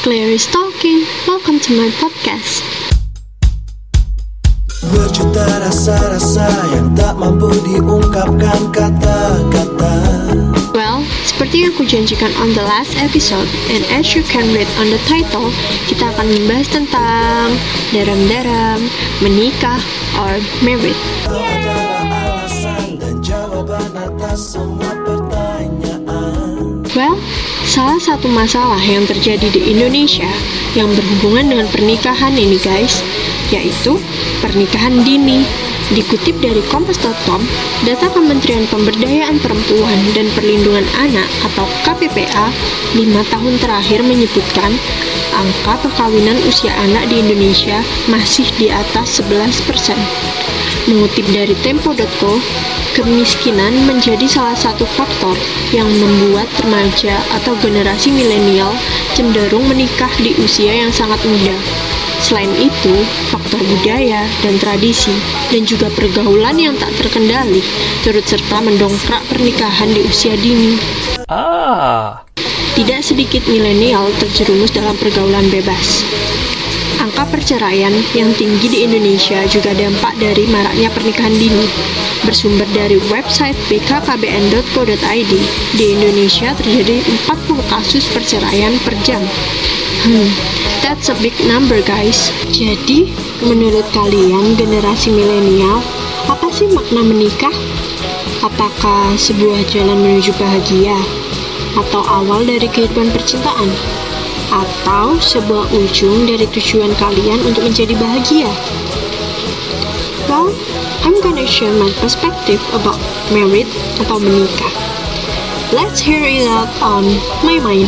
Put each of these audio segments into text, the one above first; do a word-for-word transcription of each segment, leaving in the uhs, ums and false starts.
Claire is talking. Welcome to my podcast. Berjuta rasa-rasa yang tak mampu diungkapkan kata-kata. Well, seperti yang aku janjikan on the last episode, and as you can read on the title, kita akan membahas tentang daram-daram, menikah, or married. Ada alasan dan jawaban atas semua pertanyaan. Well, salah satu masalah yang terjadi di Indonesia yang berhubungan dengan pernikahan ini guys, yaitu pernikahan dini. Dikutip dari kompas dot com, data Kementerian Pemberdayaan Perempuan dan Perlindungan Anak atau K P P A lima tahun terakhir menyebutkan angka perkawinan usia anak di Indonesia masih di atas sebelas persen. Mengutip dari tempo dot co, kemiskinan menjadi salah satu faktor yang membuat remaja atau generasi milenial cenderung menikah di usia yang sangat muda. Selain itu, faktor budaya dan tradisi dan juga pergaulan yang tak terkendali turut serta mendongkrak pernikahan di usia dini. Ah. Tidak sedikit milenial terjerumus dalam pergaulan bebas. Angka perceraian yang tinggi di Indonesia juga dampak dari maraknya pernikahan dini. Bersumber dari website b k k b n dot co dot i d, di Indonesia terjadi empat puluh kasus perceraian per jam. Hmm, that's a big number guys. Jadi, menurut kalian generasi milenial, apa sih makna menikah? Apakah sebuah jalan menuju bahagia? Atau awal dari kehidupan percintaan? Atau sebuah ujung dari tujuan kalian untuk menjadi bahagia? Well, I'm gonna share my perspective about married atau menikah. Let's hear it out on my mind.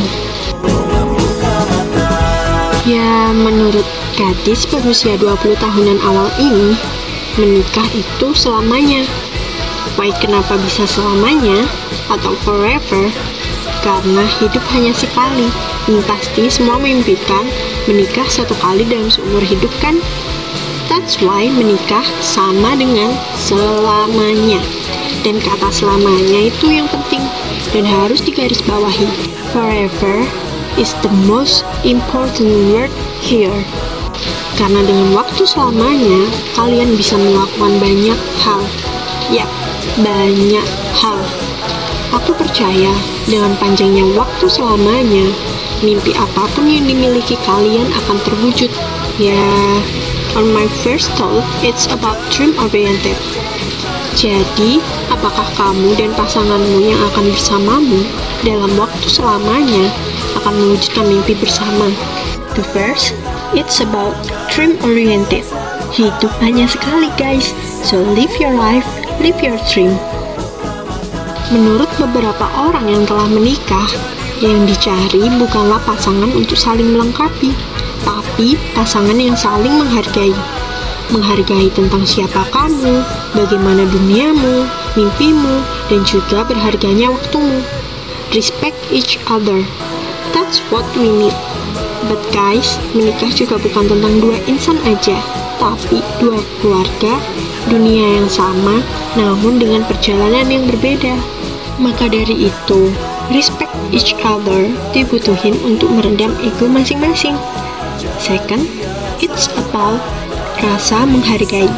Ya, menurut gadis berusia dua puluh tahunan awal ini, menikah itu selamanya. Why kenapa bisa selamanya atau forever? Karena hidup hanya sekali. Dan pasti semua mimpikan menikah satu kali dalam seumur hidup kan? That's why menikah sama dengan selamanya. Dan kata selamanya itu yang penting dan harus digarisbawahi. Forever is the most important word here. Karena dengan waktu selamanya, kalian bisa melakukan banyak hal. Ya, banyak hal. Aku percaya dengan panjangnya waktu selamanya, mimpi apapun yang dimiliki kalian akan terwujud. Ya, on my first thought, it's about dream oriented. Jadi, apakah kamu dan pasanganmu yang akan bersamamu dalam waktu selamanya akan mewujudkan mimpi bersama? The first, it's about dream oriented. Hidup hanya sekali guys, so live your life, live your dream. Menurut beberapa orang yang telah menikah, yang dicari bukanlah pasangan untuk saling melengkapi, tapi pasangan yang saling menghargai. Menghargai tentang siapa kamu, bagaimana duniamu, mimpimu, dan juga berharganya waktumu. Respect each other. That's what we need. But guys, menikah juga bukan tentang dua insan aja, tapi dua keluarga, dunia yang sama, namun dengan perjalanan yang berbeda. Maka dari itu, respect each other dibutuhin untuk meredam ego masing-masing. Second, it's about rasa menghargai.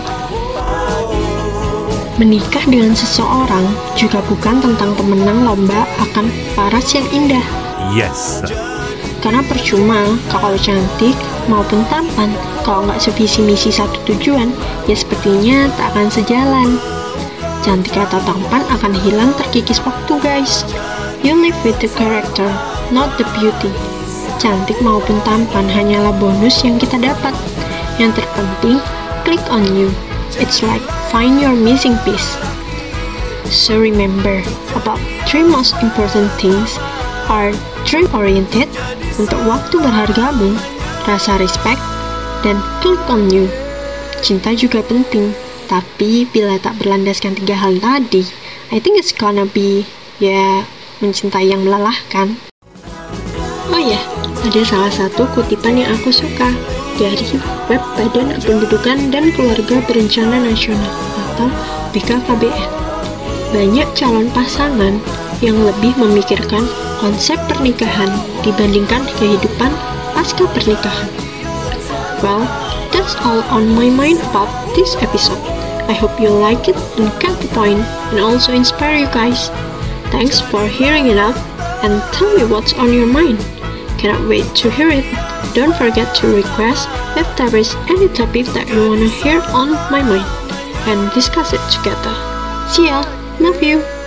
Menikah dengan seseorang juga bukan tentang pemenang lomba akan paras yang indah. Yes. Karena percuma kalau cantik maupun tampan, kalau nggak sevisi misi satu tujuan, ya sepertinya tak akan sejalan. Cantik atau tampan akan hilang terkikis waktu guys. You live with the character, not the beauty. Cantik maupun tampan hanyalah bonus yang kita dapat. Yang terpenting, click on you. It's like find your missing piece. So remember, about three most important things are dream oriented, untuk waktu berhargamu, rasa respect, dan click on you. Cinta juga penting, tapi bila tak berlandaskan tiga hal tadi, I think it's gonna be, ya, mencintai yang melelahkan. Oh ya, ada salah satu kutipan yang aku suka dari web Badan Kependudukan dan Keluarga Berencana Nasional atau B K K B N. Banyak calon pasangan yang lebih memikirkan konsep pernikahan dibandingkan kehidupan pasca pernikahan. Well, that's all on my mind about this episode. I hope you like it and get the point and also inspire you guys. Thanks for hearing it out and tell me what's on your mind. Cannot wait to hear it. Don't forget to request if there is any topic that you want to hear on my mind and discuss it together. See ya. Love you.